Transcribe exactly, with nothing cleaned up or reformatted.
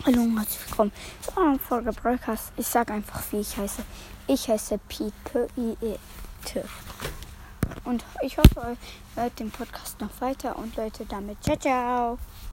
Hallo und herzlich willkommen zu einer Folge Broadcast. Ich sage einfach, wie ich heiße. Ich heiße Pike I E T. Und ich hoffe, ihr hört den Podcast noch weiter und Leute damit. Ciao, ciao.